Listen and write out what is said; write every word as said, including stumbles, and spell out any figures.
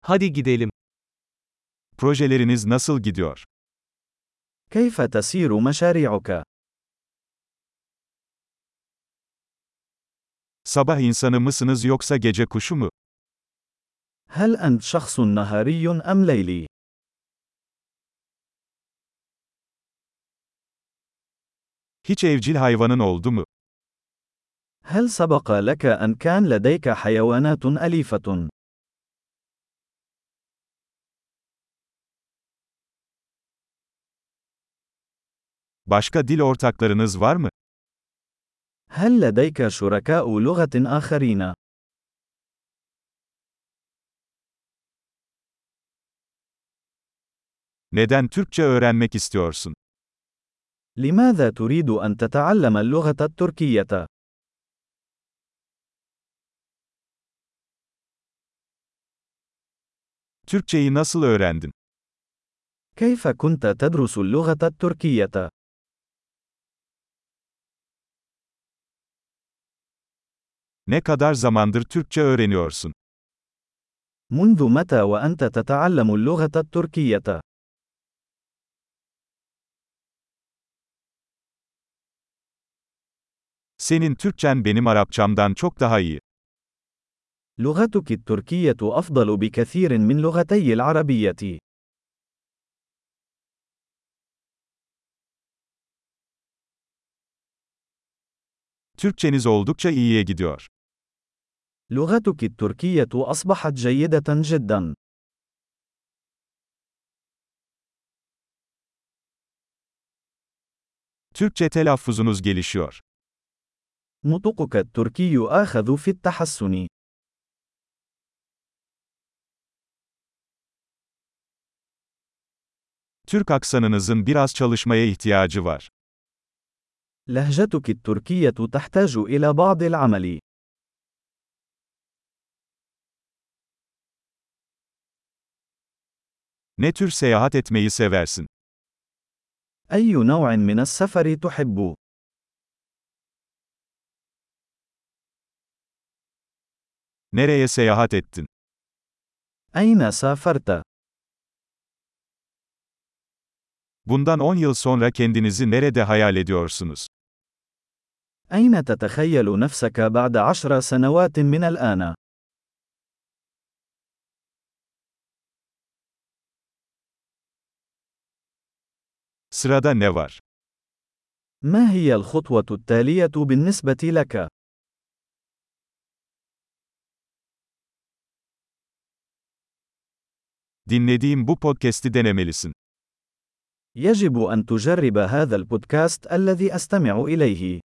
Hadi gidelim. Projeleriniz nasıl gidiyor? كيف تسير مشاريعك؟ Sabah insanı mısınız yoksa gece kuşu mu? هل أنت شخص نهاري أم ليلي؟ Hiç evcil hayvanın oldu mu? هل سبق لك أن كان لديك حيوانات أليفة؟ Başka dil ortaklarınız var mı? هل لديك شركاء لغة آخرين؟ Neden Türkçe öğrenmek istiyorsun? لماذا تريد أن تتعلم اللغة التركية؟ Türkçeyi nasıl öğrendin? كيف كنت تدرس اللغة التركية؟ Ne kadar zamandır Türkçe öğreniyorsun? منذ متى وأنت تتعلم اللغة التركية؟ Senin Türkçen benim Arapçamdan çok daha iyi. لغتك التركية أفضل بكثير من لغتي العربية. Türkçeniz oldukça iyiye gidiyor. لغتك التركية أصبحت جيدة جدا. Türkçe telaffuzunuz gelişiyor. نطقك التركي آخذ في التحسن. Türk aksanınızın biraz çalışmaya ihtiyacı var. لهجتك التركية تحتاج إلى بعض العمل. Ne tür seyahat etmeyi seversin? أي نوع من السفر تحب؟ Nereye seyahat ettin? أين سافرت؟ Bundan on yıl sonra kendinizi nerede hayal ediyorsunuz? أين تتخيل نفسك بعد عشر سنوات من الآن؟ Sırada ne var? ما هي الخطوة التالية بالنسبة لك؟ Dinlediğim bu podcast'i denemelisin. يجب أن تجرب هذا البودكاست الذي أستمع إليه.